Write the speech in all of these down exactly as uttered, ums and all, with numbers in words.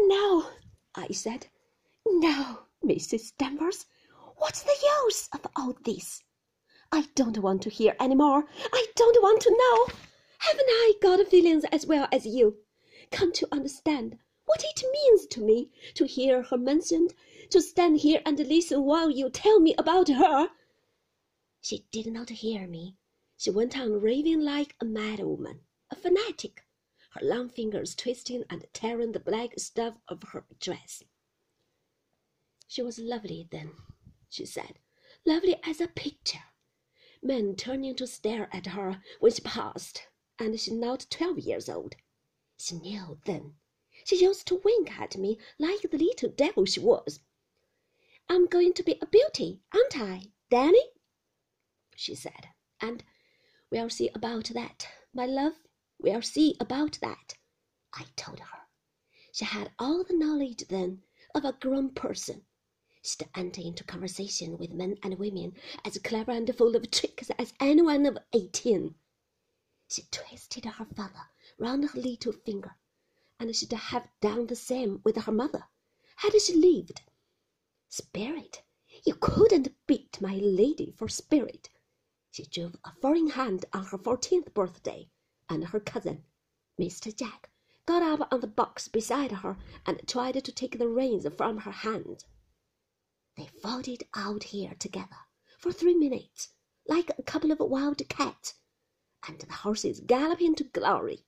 "No," I said. "No, Missus Danvers. What's the use of all this? I don't want to hear any more. I don't want to know. Haven't I got feelings as well as you? Can't you understand what it means to me to hear her mentioned, to stand here and listen while you tell me about her?" She did not hear me. She went on raving like a mad woman, a fanatic, her long fingers twisting and tearing the black stuff of her dress. "She was lovely then," she said, "lovely as a picture. Men turning to stare at her when she passed, and she not twelve years old. She knew then. She used to wink at me like the little devil she was. 'I'm going to be a beauty, aren't I, Danny?' she said, and 'we'll see about that, my love, we'll see about that,' I told her. She had all the knowledge then of a grown person. She'd enter into conversation with men and women as clever and full of tricks as anyone of eighteen. She twisted her father round her little finger, and she'd have done the same with her mother, had she lived. Spirit! You couldn't beat my lady for spirit. She drove a four-in hand on her fourteenth birthday, and her cousin, Mister Jack, got up on the box beside her and tried to take the reins from her hands. They fought it out here together for three minutes, like a couple of wild cats, and the horses galloping to glory.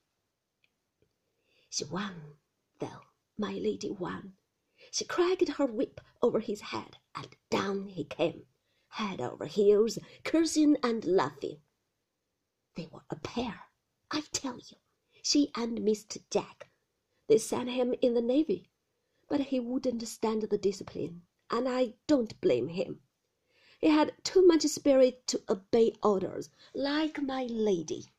She won, though, my lady won. She cracked her whip over his head, and down he came, head over heels, cursing and laughing. They were a pair, I tell you, she and Mister Jack. They sent him in the Navy, but he wouldn't stand the discipline, and I don't blame him. He had too much spirit to obey orders, like my lady.